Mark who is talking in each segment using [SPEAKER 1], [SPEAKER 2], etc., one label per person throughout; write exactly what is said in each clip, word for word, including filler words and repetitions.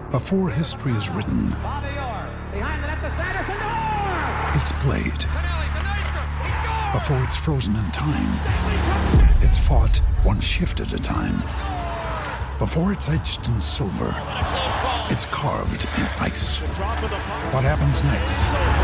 [SPEAKER 1] Before history is written, it's played. Before it's frozen in time, it's fought one shift at a time. Before it's etched in silver, it's carved in ice. What happens next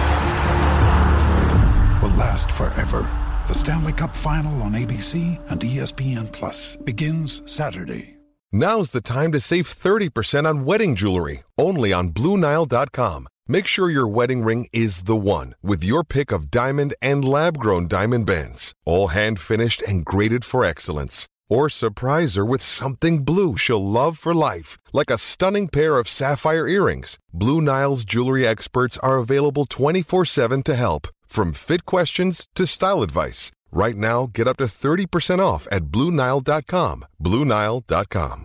[SPEAKER 1] will last forever. The Stanley Cup Final on A B C and E S P N Plus begins Saturday.
[SPEAKER 2] Now's the time to save thirty percent on wedding jewelry, only on Blue Nile dot com. Make sure your wedding ring is the one with your pick of diamond and lab-grown diamond bands, all hand-finished and graded for excellence. Or surprise her with something blue she'll love for life, like a stunning pair of sapphire earrings. Blue Nile's jewelry experts are available twenty-four seven to help, from fit questions to style advice. Right now, get up to thirty percent off at Blue Nile dot com. Blue Nile dot com.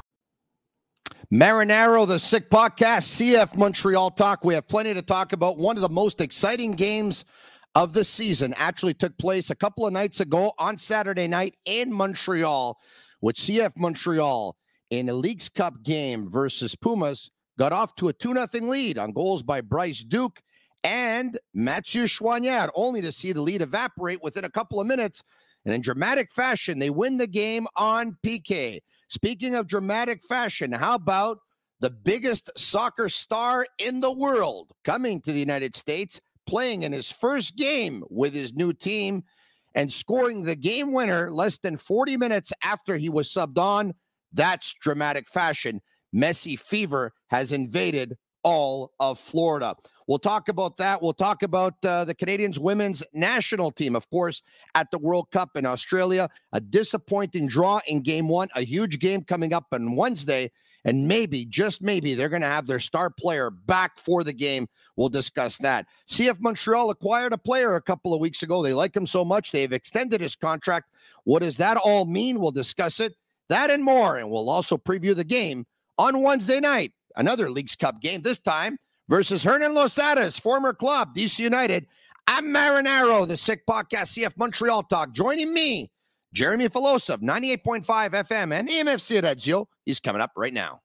[SPEAKER 3] Marinaro, the Sick Podcast, C F Montreal Talk. We have plenty to talk about. One of the most exciting games of the season actually took place a couple of nights ago on Saturday night in Montreal, with C F Montreal in a Leagues Cup game versus Pumas. Got off to a two nothing lead on goals by Bryce Duke and Mathieu Choignard, only to see the lead evaporate within a couple of minutes. And in dramatic fashion, they win the game on P K. Speaking of dramatic fashion, how about the biggest soccer star in the world coming to the United States, playing in his first game with his new team, and scoring the game winner less than forty minutes after he was subbed on? That's dramatic fashion. Messi fever has invaded all of Florida. We'll talk about that. We'll talk about uh, the Canadians women's national team, of course, at the World Cup in Australia. A disappointing draw in game one, a huge game coming up on Wednesday, and maybe, just maybe, they're going to have their star player back for the game. We'll discuss that. C F Montreal acquired a player a couple of weeks ago. They like him so much, they've extended his contract. What does that all mean? We'll discuss it. That and more, and we'll also preview the game on Wednesday night. Another Leagues Cup game, this time versus Hernan Losada's former club, D C United. I'm Marinaro, the Sick Podcast, C F Montreal Talk. Joining me, Jeremy Filosa of ninety-eight point five F M and A M F C Radio. He's coming up right now.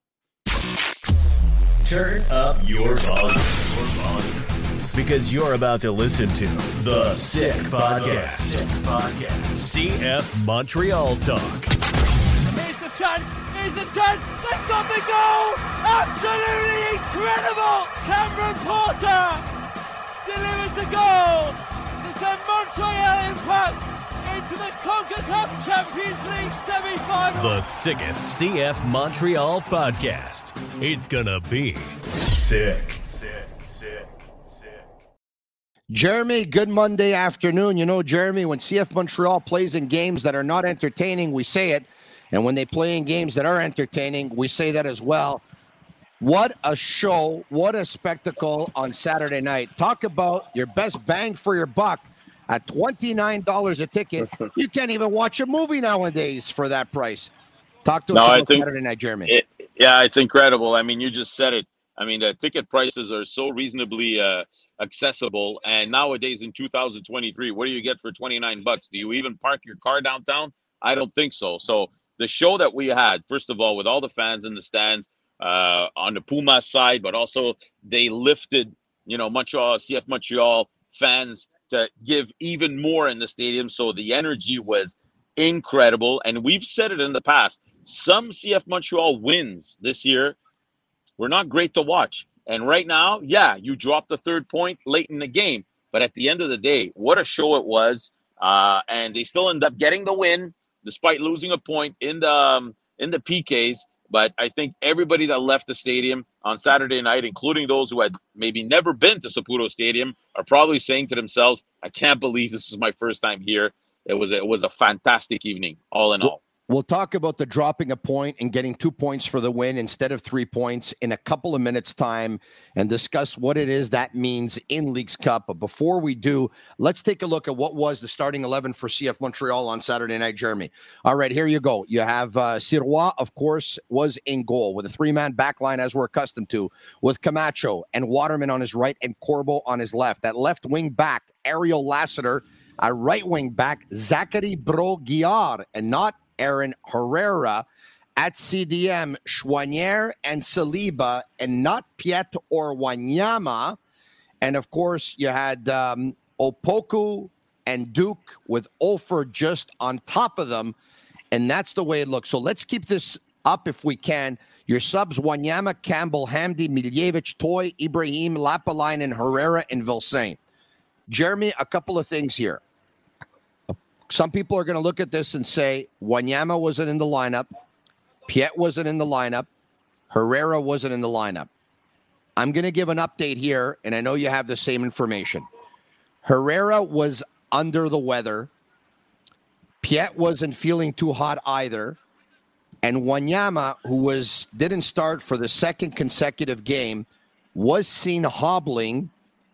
[SPEAKER 4] Turn up your volume, your volume, because you're about to listen to the Sick Podcast. Sick Podcast. C F Montreal Talk.
[SPEAKER 5] Here's the chance. Here's the chance. They've got the goal. Absolutely incredible. Cameron Porter delivers the goal to send Montreal Impact into the CONCACAF Champions League semi-final.
[SPEAKER 4] The sickest C F Montreal podcast. It's gonna be sick. Sick, sick, sick.
[SPEAKER 3] Jeremy, good Monday afternoon. You know, Jeremy, when C F Montreal plays in games that are not entertaining, we say it. And when they play in games that are entertaining, we say that as well. What a show. What a spectacle on Saturday night. Talk about your best bang for your buck at twenty-nine dollars a ticket. You can't even watch a movie nowadays for that price. Talk to us
[SPEAKER 6] no,
[SPEAKER 3] about
[SPEAKER 6] think,
[SPEAKER 3] Saturday night, Jeremy.
[SPEAKER 6] It, yeah, it's incredible. I mean, you just said it. I mean, the ticket prices are so reasonably uh, accessible. And nowadays in two thousand twenty-three, what do you get for twenty-nine bucks? Do you even park your car downtown? I don't think so. So the show that we had, first of all, with all the fans in the stands uh, on the Pumas side, but also they lifted, you know, Montreal, C F Montreal fans to give even more in the stadium. So the energy was incredible. And we've said it in the past, some C F Montreal wins this year were not great to watch. And right now, yeah, you dropped the third point late in the game. But at the end of the day, what a show it was. Uh, and they still end up getting the win, despite losing a point in the um, in the P Ks. But I think everybody that left the stadium on Saturday night, including those who had maybe never been to Saputo Stadium, are probably saying to themselves, I can't believe this is my first time here. It was, it was a fantastic evening, all in all.
[SPEAKER 3] We'll talk about the dropping a point and getting two points for the win instead of three points in a couple of minutes' time and discuss what it is that means in Leagues Cup. But before we do, let's take a look at what was the starting eleven for C F Montreal on Saturday night, Jeremy. All right, here you go. You have uh, Sirois, of course, was in goal with a three-man back line as we're accustomed to, with Camacho and Waterman on his right and Corbo on his left. That left wing back, Ariel Lassiter, a right wing back, Zachary Brault-Guillard, and not Aaron Herrera. At C D M, Choinière and Saliba, and not Piet or Wanyama. And, of course, you had um, Opoku and Duke with Olfer just on top of them. And that's the way it looks. So let's keep this up if we can. Your subs, Wanyama, Campbell, Hamdi, Miljevic, Toy, Ibrahim, Lapalainen, Herrera, and Vilsain. Jeremy, a couple of things here. Some people are going to look at this and say, Wanyama wasn't in the lineup. Piet wasn't in the lineup. Herrera wasn't in the lineup. I'm going to give an update here, and I know you have the same information. Herrera was under the weather. Piet wasn't feeling too hot either. And Wanyama, who was didn't start for the second consecutive game, was seen hobbling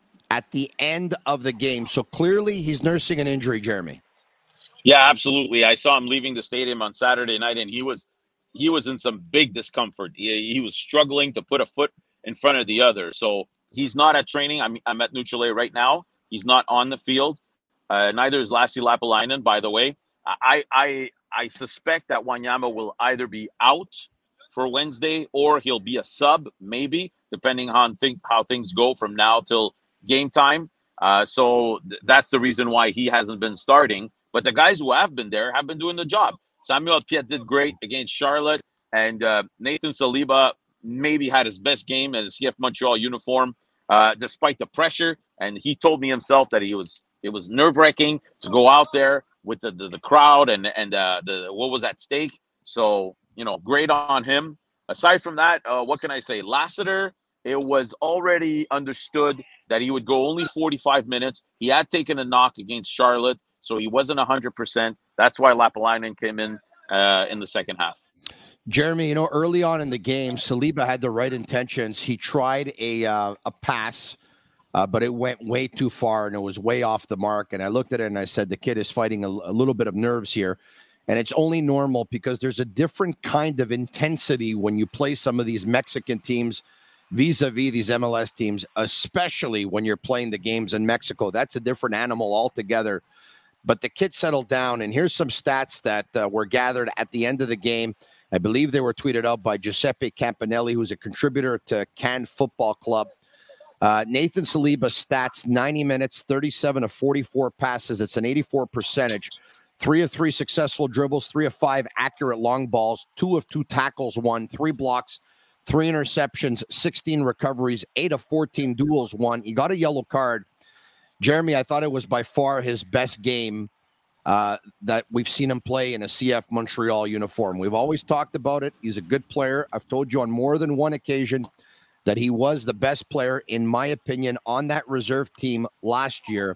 [SPEAKER 3] at the end of the game. So clearly he's nursing an injury, Jeremy.
[SPEAKER 6] Yeah, absolutely. I saw him leaving the stadium on Saturday night, and he was he was in some big discomfort. He, he was struggling to put a foot in front of the other. So he's not at training. I'm, I'm at Neutral right now. He's not on the field. Uh, neither is Lassi Lapalainen, by the way. I, I I suspect that Wanyama will either be out for Wednesday or he'll be a sub, maybe, depending on think, how things go from now till game time. Uh, so th- that's the reason why he hasn't been starting. But the guys who have been there have been doing the job. Samuel Piet did great against Charlotte, and uh, Nathan Saliba maybe had his best game in a C F Montreal uniform, uh, despite the pressure. And he told me himself that he was it was nerve-wracking to go out there with the, the, the crowd and and uh, the what was at stake. So, you know, great on him. Aside from that, uh, what can I say? Lassiter, it was already understood that he would go only forty-five minutes. He had taken a knock against Charlotte, so he wasn't one hundred percent. That's why Lapalainen came in uh, in the second half.
[SPEAKER 3] Jeremy, you know, early on in the game, Saliba had the right intentions. He tried a uh, a pass, uh, but it went way too far, and it was way off the mark. And I looked at it, and I said, the kid is fighting a, a little bit of nerves here. And it's only normal because there's a different kind of intensity when you play some of these Mexican teams vis-a-vis these M L S teams, especially when you're playing the games in Mexico. That's a different animal altogether. But the kid settled down, and here's some stats that uh, were gathered at the end of the game. I believe they were tweeted out by Giuseppe Campanelli, who's a contributor to Cannes Football Club. Uh, Nathan Saliba stats, ninety minutes, thirty-seven of forty-four passes. It's an eighty-four percentage. Three of three successful dribbles, three of five accurate long balls, two of two tackles won, three blocks, three interceptions, sixteen recoveries, eight of fourteen duels won. He got a yellow card. Jeremy, I thought it was by far his best game uh, that we've seen him play in a C F Montreal uniform. We've always talked about it. He's a good player. I've told you on more than one occasion that he was the best player, in my opinion, on that reserve team last year.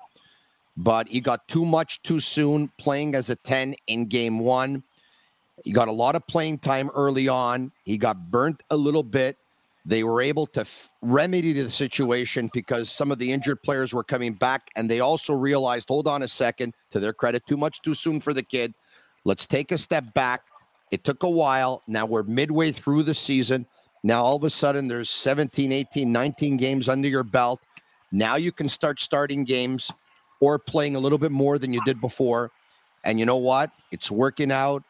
[SPEAKER 3] But he got too much too soon playing as a ten in game one. He got a lot of playing time early on. He got burnt a little bit. They were able to f- remedy the situation because some of the injured players were coming back, and they also realized, hold on a second, to their credit, too much too soon for the kid. Let's take a step back. It took a while. Now we're midway through the season. Now all of a sudden there's seventeen, eighteen, nineteen games under your belt. Now you can start starting games or playing a little bit more than you did before. And you know what? It's working out.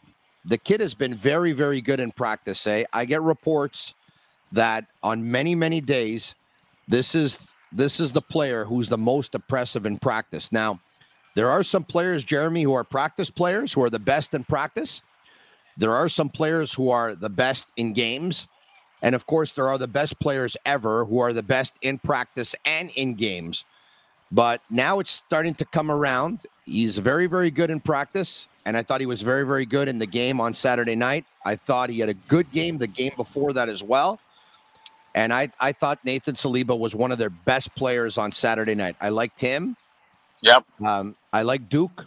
[SPEAKER 3] The kid has been very, very good in practice. Eh? I get reports that on many, many days, this is this is the player who's the most impressive in practice. Now, there are some players, Jeremy, who are practice players, who are the best in practice. There are some players who are the best in games. And, of course, there are the best players ever who are the best in practice and in games. But now it's starting to come around. He's very, very good in practice. And I thought he was very, very good in the game on Saturday night. I thought he had a good game the game before that as well. And I, I thought Nathan Saliba was one of their best players on Saturday night. I liked him.
[SPEAKER 6] Yep.
[SPEAKER 3] Um, I liked Duke.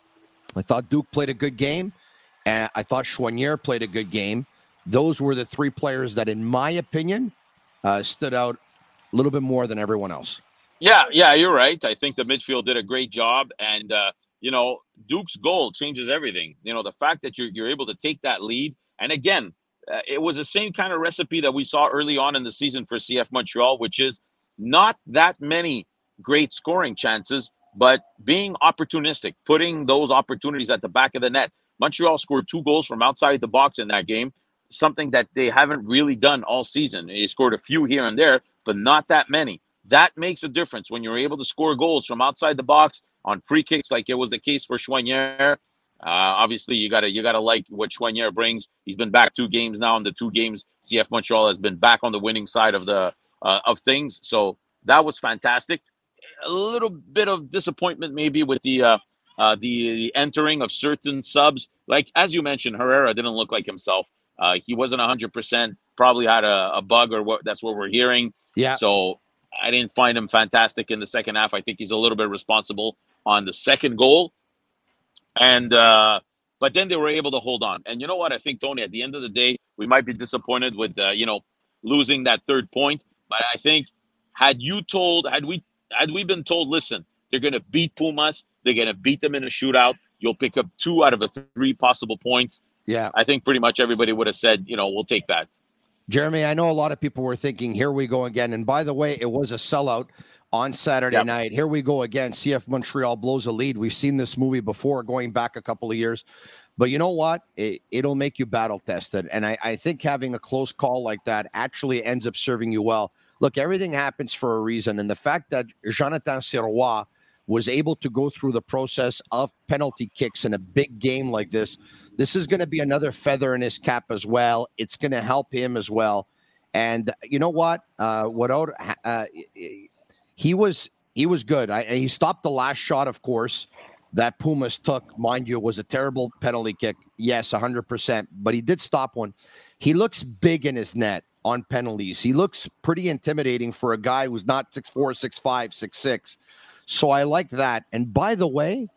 [SPEAKER 3] I thought Duke played a good game. And I thought Choinière played a good game. Those were the three players that, in my opinion, uh, stood out a little bit more than everyone else.
[SPEAKER 6] Yeah, yeah, you're right. I think the midfield did a great job. And, uh, you know, Duke's goal changes everything. You know, the fact that you're, you're able to take that lead. And, again, Uh, it was the same kind of recipe that we saw early on in the season for C F Montreal, which is not that many great scoring chances, but being opportunistic, putting those opportunities at the back of the net. Montreal scored two goals from outside the box in that game, something that they haven't really done all season. They scored a few here and there, but not that many. That makes a difference when you're able to score goals from outside the box on free kicks, like it was the case for Choinière. Uh, obviously, you gotta you gotta like what Choinière brings. He's been back two games now, and the two games C F Montreal has been back on the winning side of the uh, of things. So that was fantastic. A little bit of disappointment maybe with the uh, uh, the, the entering of certain subs. Like as you mentioned, Herrera didn't look like himself. Uh, he wasn't one hundred percent. Probably had a, a bug, or what. That's what we're hearing.
[SPEAKER 3] Yeah.
[SPEAKER 6] So I didn't find him fantastic in the second half. I think he's a little bit responsible on the second goal. And uh, but then they were able to hold on. And you know what? I think, Tony, at the end of the day, we might be disappointed with uh, you know losing that third point. But I think had you told, had we had we been told, listen, they're going to beat Pumas, they're going to beat them in a shootout, you'll pick up two out of the three possible points.
[SPEAKER 3] Yeah,
[SPEAKER 6] I think pretty much everybody would have said, you know, we'll take that.
[SPEAKER 3] Jeremy, I know a lot of people were thinking, here we go again. And by the way, it was a sellout on Saturday yep. night. Here we go again. C F Montreal blows a lead. We've seen this movie before, going back a couple of years. But you know what? It, it'll make you battle tested. And I, I think having a close call like that actually ends up serving you well. Look, everything happens for a reason. And the fact that Jonathan Sirois was able to go through the process of penalty kicks in a big game like this, this is going to be another feather in his cap as well. It's going to help him as well. And you know what? Uh, without uh, he was he was good. I, he stopped the last shot, of course, that Pumas took. Mind you, it was a terrible penalty kick. Yes, one hundred percent. But he did stop one. He looks big in his net on penalties. He looks pretty intimidating for a guy who's not six four, six five, six six. So I like that. And by the way,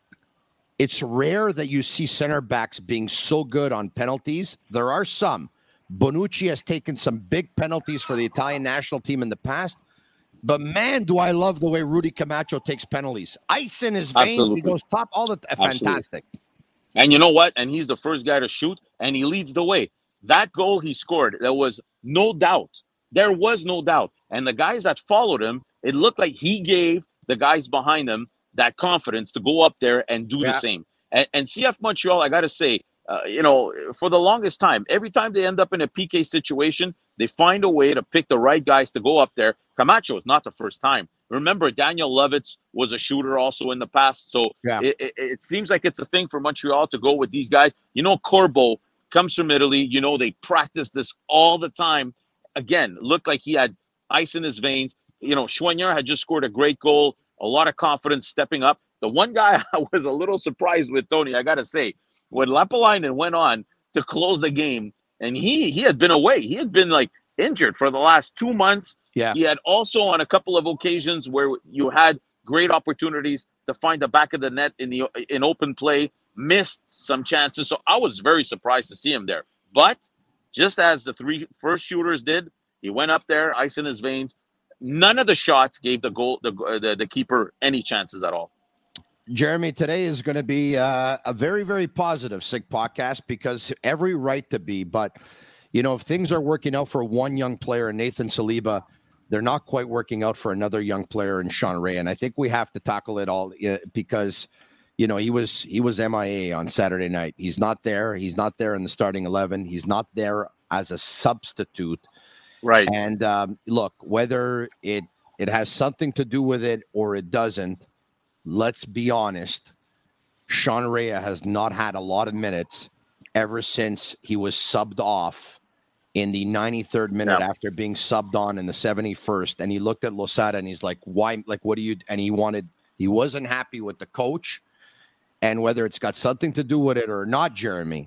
[SPEAKER 3] it's rare that you see center backs being so good on penalties. There are some. Bonucci has taken some big penalties for the Italian national team in the past. But man, do I love the way Rudy Camacho takes penalties. Ice in his veins. Absolutely. He goes top all the uh, fantastic.
[SPEAKER 6] And you know what? And he's the first guy to shoot, and he leads the way. That goal he scored, there was no doubt. There was no doubt. And the guys that followed him, it looked like he gave the guys behind him that confidence to go up there and do yeah. the same. And, and C F Montreal, I got to say, uh, you know, for the longest time, every time they end up in a P K situation, they find a way to pick the right guys to go up there. Camacho is not the first time. Remember, Daniel Lovitz was a shooter also in the past. So yeah. it, it, it seems like it's a thing for Montreal to go with these guys. You know, Corbo comes from Italy. You know, they practice this all the time. Again, looked like he had ice in his veins. You know, Choinière had just scored a great goal. A lot of confidence stepping up. The one guy I was a little surprised with, Tony, I got to say, when Lappalainen went on to close the game, and he he had been away. He had been, like, injured for the last two months.
[SPEAKER 3] Yeah.
[SPEAKER 6] He had also on a couple of occasions where you had great opportunities to find the back of the net in the in open play, missed some chances. So I was very surprised to see him there. But just as the three first shooters did, he went up there, ice in his veins. None of the shots gave the goal the the, the keeper any chances at all.
[SPEAKER 3] Jeremy, today is going to be uh, a very, very positive Sick podcast because every right to be. But, you know, if things are working out for one young player, Nathan Saliba, they're not quite working out for another young player in Sean Ray. And I think we have to tackle it all uh, because, you know, he was he was M I A on Saturday night. He's not there. He's not there in the starting eleven. He's not there as a substitute.
[SPEAKER 6] Right.
[SPEAKER 3] And um, look, whether it it has something to do with it or it doesn't, let's be honest. Sean Ray has not had a lot of minutes ever since he was subbed off in the ninety-third minute yeah. after being subbed on in the seventy-first. And he looked at Losada and he's like, why? Like, what do you? And he wanted, he wasn't happy with the coach. And whether it's got something to do with it or not, Jeremy,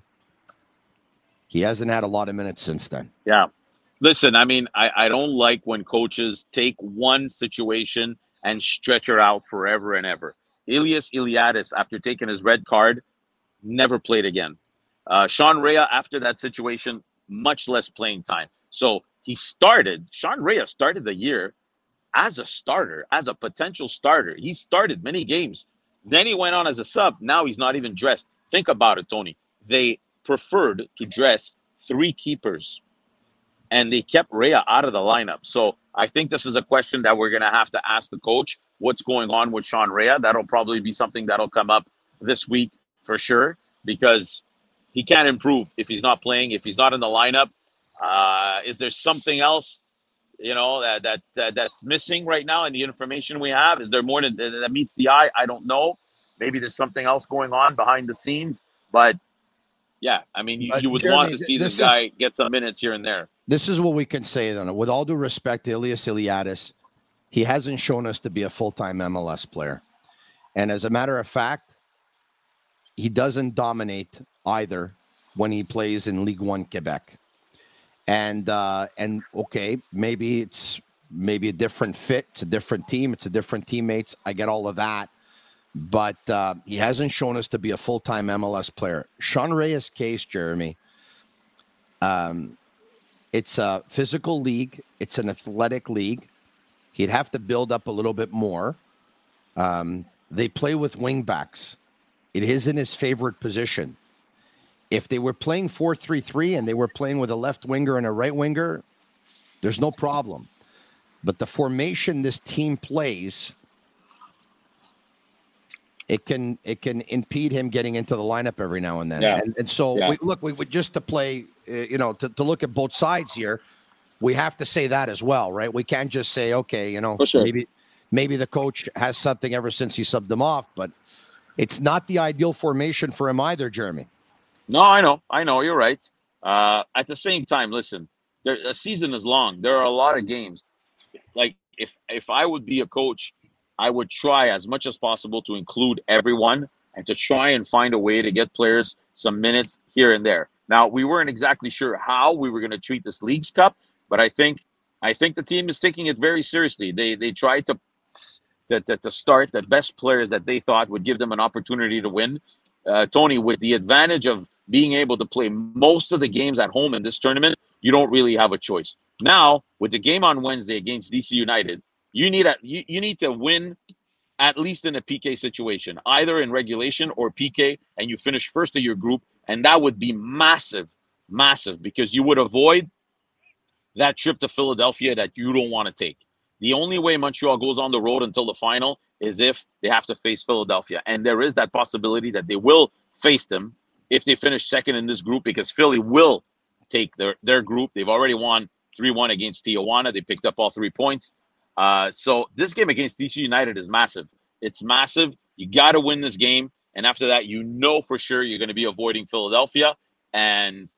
[SPEAKER 3] he hasn't had a lot of minutes since then.
[SPEAKER 6] Yeah. Listen, I mean, I, I don't like when coaches take one situation and stretch her out forever and ever. Ilias Iliadis, after taking his red card, never played again. Uh, Sean Rea, after that situation, much less playing time. So he started, Sean Rea started the year as a starter, as a potential starter. He started many games. Then he went on as a sub. Now he's not even dressed. Think about it, Tony. They preferred to dress three keepers, and they kept Rea out of the lineup. So I think this is a question that we're going to have to ask the coach. What's going on with Sean Rea? That'll probably be something that'll come up this week for sure. because he can't improve if he's not playing, if he's not in the lineup. Uh, is there something else, you know, that, that that that's missing right now in the information we have? Is there more than, that meets the eye? I don't know. Maybe there's something else going on behind the scenes. But, yeah, I mean, you, you would Jeremy, want to see this, this guy is, get some minutes here and there.
[SPEAKER 3] This is what we can say, then. With all due respect to Elias Iliadis, he hasn't shown us to be a full-time M L S player. And as a matter of fact, he doesn't dominate either when he plays in Ligue one Quebec. And, uh, and okay, maybe it's maybe a different fit. It's a different team. It's a different teammates. I get all of that. But uh, he hasn't shown us to be a full-time M L S player. Sean Reyes' case, Jeremy, um, it's a physical league. It's an athletic league. He'd have to build up a little bit more. Um, they play with wingbacks. It isn't his favorite position. If they were playing four three three and they were playing with a left winger and a right winger, there's no problem. But the formation this team plays, it can it can impede him getting into the lineup every now and then.
[SPEAKER 6] Yeah.
[SPEAKER 3] And, and so,
[SPEAKER 6] yeah.
[SPEAKER 3] we, look, we, we just to play, uh, you know, to, to look at both sides here, we have to say that as well, right? We can't just say, okay, you know,
[SPEAKER 6] sure.
[SPEAKER 3] maybe maybe the coach has something ever since he subbed them off, but it's not the ideal formation for him either, Jeremy.
[SPEAKER 6] No, I know. I know. You're right. Uh, at the same time, listen, there, a season is long. There are a lot of games. Like, if if I would be a coach, I would try as much as possible to include everyone and to try and find a way to get players some minutes here and there. Now, we weren't exactly sure how we were going to treat this Leagues Cup, but I think I think the team is taking it very seriously. They they tried to to, to, to start the best players that they thought would give them an opportunity to win. Uh, Tony, with the advantage of being able to play most of the games at home in this tournament, you don't really have a choice. Now, with the game on Wednesday against D C United, you need a you, you need to win at least in a P K situation, either in regulation or P K, and you finish first of your group, and that would be massive, massive, because you would avoid that trip to Philadelphia that you don't want to take. The only way Montreal goes on the road until the final is if they have to face Philadelphia, and there is that possibility that they will face them if they finish second in this group, because Philly will take their, their group. They've already won three one against Tijuana. They picked up all three points. Uh, so this game against D C United is massive. It's massive. You got to win this game. And after that, you know for sure you're going to be avoiding Philadelphia. And,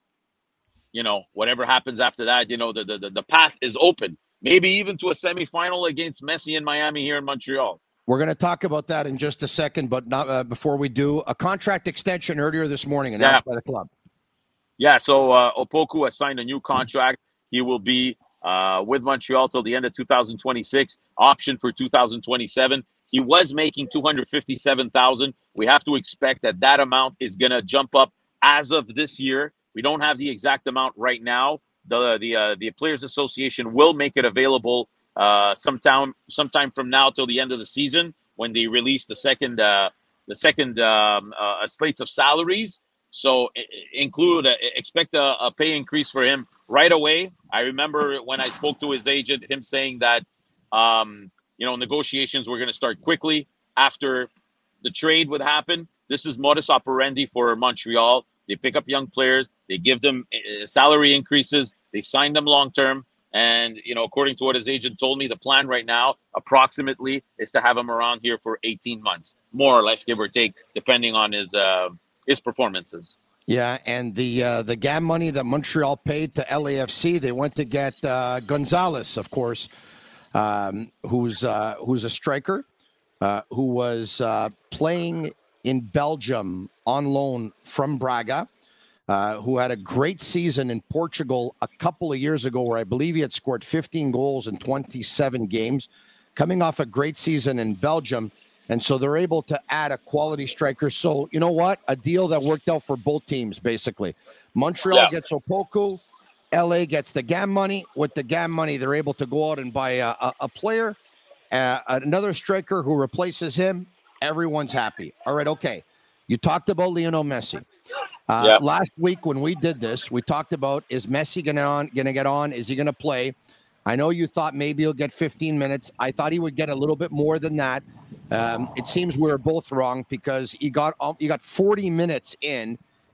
[SPEAKER 6] you know, whatever happens after that, you know, the, the, the path is open. Maybe even to a semifinal against Messi in Miami here in Montreal.
[SPEAKER 3] We're going to talk about that in just a second, but not uh, before we do, a contract extension earlier this morning announced yeah. by the club.
[SPEAKER 6] Yeah, so uh, Opoku has signed a new contract. He will be uh, with Montreal till the end of two thousand twenty-six, option for two thousand twenty-seven. He was making two hundred fifty-seven thousand dollars. We have to expect that that amount is going to jump up as of this year. We don't have the exact amount right now. The the uh, the Players Association will make it available uh, sometime sometime from now till the end of the season when they release the second uh, the second um, uh, slates of salaries. So include uh, expect a, a pay increase for him right away. I remember when I spoke to his agent, him saying that um, you know negotiations were going to start quickly after the trade would happen. This is modus operandi for Montreal. They pick up young players, they give them uh, salary increases, they sign them long term. And, you know, according to what his agent told me, the plan right now, approximately, is to have him around here for eighteen months, more or less, give or take, depending on his uh, his performances.
[SPEAKER 3] Yeah, and the uh, the G A M money that Montreal paid to L A F C, they went to get uh, Gonzalez, of course, um, who's uh, who's a striker, uh, who was uh, playing in Belgium on loan from Braga, uh, who had a great season in Portugal a couple of years ago, where I believe he had scored fifteen goals in twenty-seven games, coming off a great season in Belgium. And so they're able to add a quality striker. So, you know what? A deal that worked out for both teams, basically. Montreal yeah. gets Opoku. L A gets the G A M money. With the G A M money, they're able to go out and buy a, a, a player, uh, another striker who replaces him. Everyone's happy. All right, okay. You talked about Lionel Messi. Uh, yeah. Last week when we did this, we talked about, is Messi going to going to get on? Is he going to play? I know you thought maybe he'll get fifteen minutes. I thought he would get a little bit more than that. Um, it seems we were both wrong because he got he got forty minutes in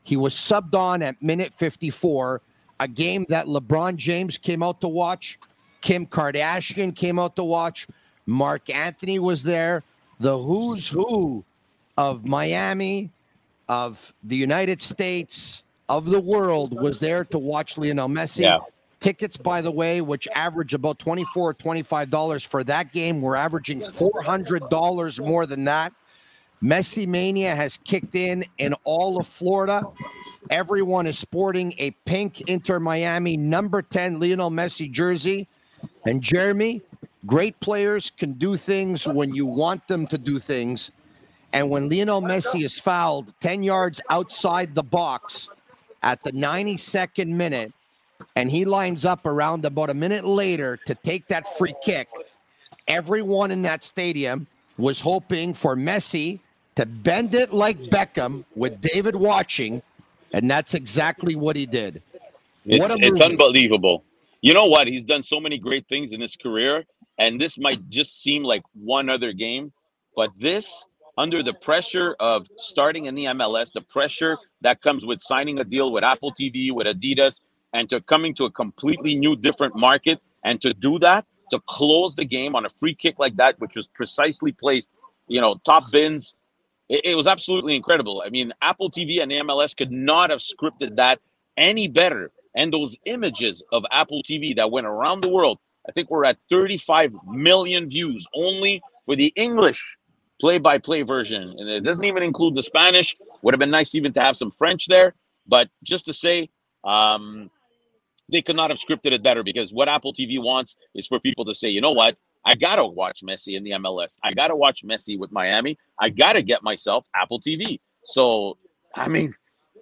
[SPEAKER 3] He was subbed on at minute fifty-four, a game that LeBron James came out to watch, Kim Kardashian came out to watch, Mark Anthony was there, the who's who of Miami, of the United States, of the world was there to watch Lionel Messi.
[SPEAKER 6] Yeah.
[SPEAKER 3] Tickets, by the way, which average about twenty-four dollars, twenty-five dollars for that game, we're averaging four hundred dollars more than that. Messi Mania has kicked in in all of Florida. Everyone is sporting a pink Inter Miami number ten Lionel Messi jersey. And Jeremy, great players can do things when you want them to do things. And when Lionel Messi is fouled ten yards outside the box at the ninety-second minute, and he lines up around about a minute later to take that free kick, everyone in that stadium was hoping for Messi to bend it like Beckham with David watching, and that's exactly what he did.
[SPEAKER 6] It's, it's unbelievable. You know what? He's done so many great things in his career, and this might just seem like one other game, but this, under the pressure of starting in the M L S, the pressure that comes with signing a deal with Apple T V, with Adidas, and to coming to a completely new, different market, and to do that, to close the game on a free kick like that, which was precisely placed, you know, top bins, it, it was absolutely incredible. I mean, Apple T V and the M L S could not have scripted that any better. And those images of Apple T V that went around the world, I think we're at thirty-five million views only for the English play-by-play version. And it doesn't even include the Spanish. Would have been nice even to have some French there. But just to say, um, they could not have scripted it better, because what Apple T V wants is for people to say, you know what? I got to watch Messi in the M L S. I got to watch Messi with Miami. I got to get myself Apple T V. So, I mean,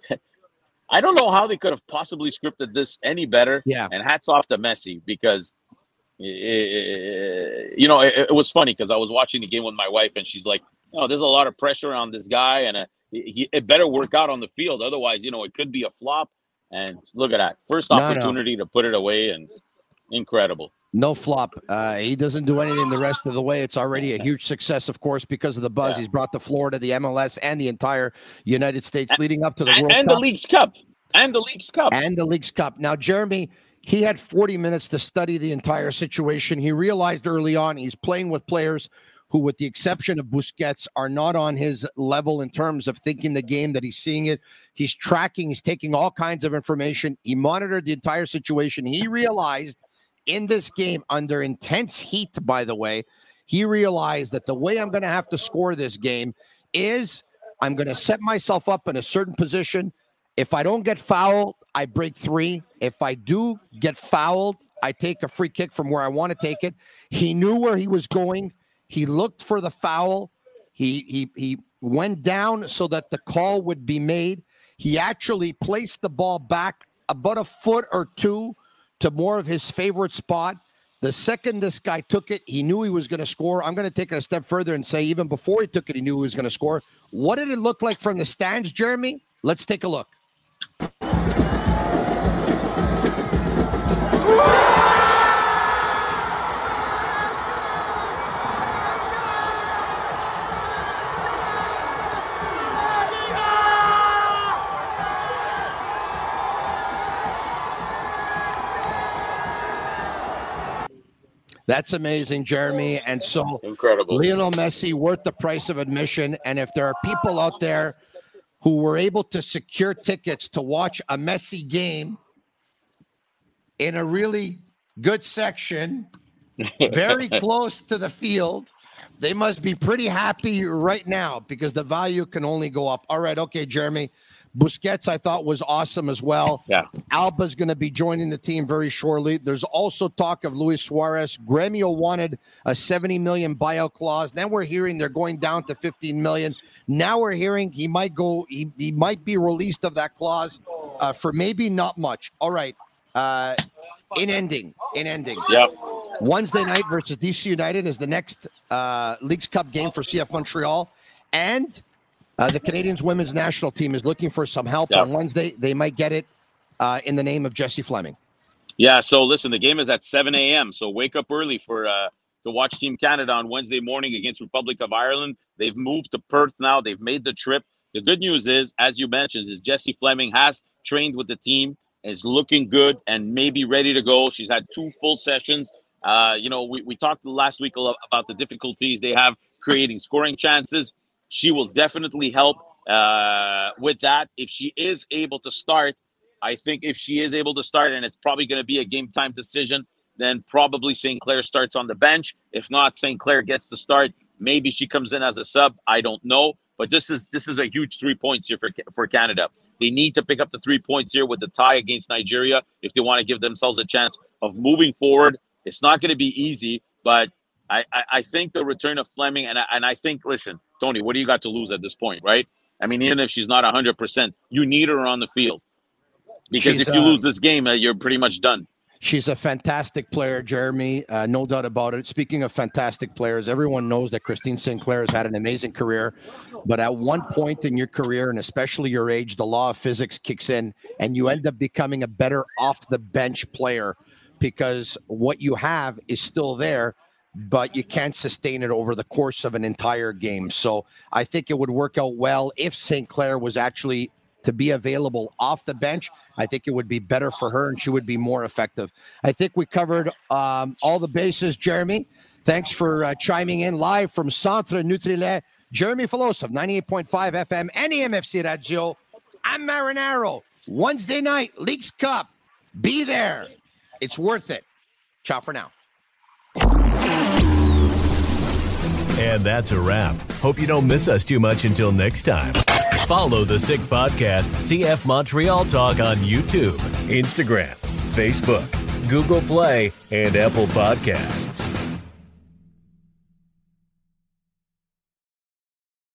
[SPEAKER 6] I don't know how they could have possibly scripted this any better.
[SPEAKER 3] Yeah. And
[SPEAKER 6] hats off to Messi, because, it, you know, it, it was funny because I was watching the game with my wife, and she's like, oh, there's a lot of pressure on this guy, and uh, he, it better work out on the field. Otherwise, you know, it could be a flop. And look at that. First opportunity no, no. to put it away, and incredible.
[SPEAKER 3] No flop. Uh, he doesn't do anything the rest of the way. It's already a huge success, of course, because of the buzz yeah. he's brought to Florida, the M L S, and the entire United States and, leading up to the
[SPEAKER 6] and,
[SPEAKER 3] World
[SPEAKER 6] and
[SPEAKER 3] Cup.
[SPEAKER 6] the Leagues Cup. And the Leagues Cup.
[SPEAKER 3] And the Leagues Cup. Now, Jeremy, he had forty minutes to study the entire situation. He realized early on he's playing with players who, with the exception of Busquets, are not on his level in terms of thinking the game, that he's seeing it. He's tracking. He's taking all kinds of information. He monitored the entire situation. He realized in this game, under intense heat, by the way, he realized that the way I'm going to have to score this game is I'm going to set myself up in a certain position. If I don't get fouled, I break three. If I do get fouled, I take a free kick from where I want to take it. He knew where he was going. He looked for the foul. He he he went down so that the call would be made. He actually placed the ball back about a foot or two to more of his favorite spot. The second this guy took it, he knew he was going to score. I'm going to take it a step further and say even before he took it, he knew he was going to score. What did it look like from the stands, Jeremy? Let's take a look. That's amazing, Jeremy. And so
[SPEAKER 6] incredible.
[SPEAKER 3] Lionel Messi worth the price of admission. And if there are people out there who were able to secure tickets to watch a Messi game in a really good section, very close to the field, they must be pretty happy right now, because the value can only go up. All right. Okay, Jeremy. Busquets, I thought, was awesome as well.
[SPEAKER 6] Yeah.
[SPEAKER 3] Alba's going to be joining the team very shortly. There's also talk of Luis Suarez. Gremio wanted a seventy million buyout clause. Then we're hearing they're going down to fifteen million. Now we're hearing he might go. He, he might be released of that clause uh, for maybe not much. All right. Uh, in ending, in ending.
[SPEAKER 6] Yep.
[SPEAKER 3] Wednesday night versus D C United is the next uh, Leagues Cup game for C F Montreal, and Uh, the Canadians women's national team is looking for some help yeah. on Wednesday. They might get it uh, in the name of Jesse Fleming.
[SPEAKER 6] Yeah, so listen, the game is at seven a.m., so wake up early for uh, to watch Team Canada on Wednesday morning against Republic of Ireland. They've moved to Perth now. They've made the trip. The good news is, as you mentioned, is Jessie Fleming has trained with the team, is looking good and maybe ready to go. She's had two full sessions. Uh, you know, we, we talked last week about the difficulties they have creating scoring chances. She will definitely help uh, with that. If she is able to start, I think if she is able to start, and it's probably going to be a game time decision, then probably Saint Clair starts on the bench. If not, Saint Clair gets the start. Maybe she comes in as a sub. I don't know. But this is this is a huge three points here for, for Canada. They need to pick up the three points here with the tie against Nigeria if they want to give themselves a chance of moving forward. It's not going to be easy, but I, I, I think the return of Fleming, and I, and I think, listen, Tony, what do you got to lose at this point, right? I mean, even if she's not one hundred percent, you need her on the field. Because she's, if you uh, lose this game, uh, you're pretty much done.
[SPEAKER 3] She's a fantastic player, Jeremy. Uh, no doubt about it. Speaking of fantastic players, everyone knows that Christine Sinclair has had an amazing career. But at one point in your career, and especially your age, the law of physics kicks in, and you end up becoming a better off-the-bench player because what you have is still there, but you can't sustain it over the course of an entire game. So I think it would work out well if Saint Clair was actually to be available off the bench. I think it would be better for her and she would be more effective. I think we covered um, all the bases, Jeremy. Thanks for uh, chiming in live from Centre Nutrilait. Jeremy Filosof, ninety-eight point five F M and E M F C Radio. I'm Marinaro. Wednesday night, Leagues Cup. Be there. It's worth it. Ciao for now.
[SPEAKER 4] And that's a wrap. Hope you don't miss us too much until next time. Follow the Sick Podcast, C F Montreal Talk on YouTube, Instagram, Facebook, Google Play, and Apple Podcasts.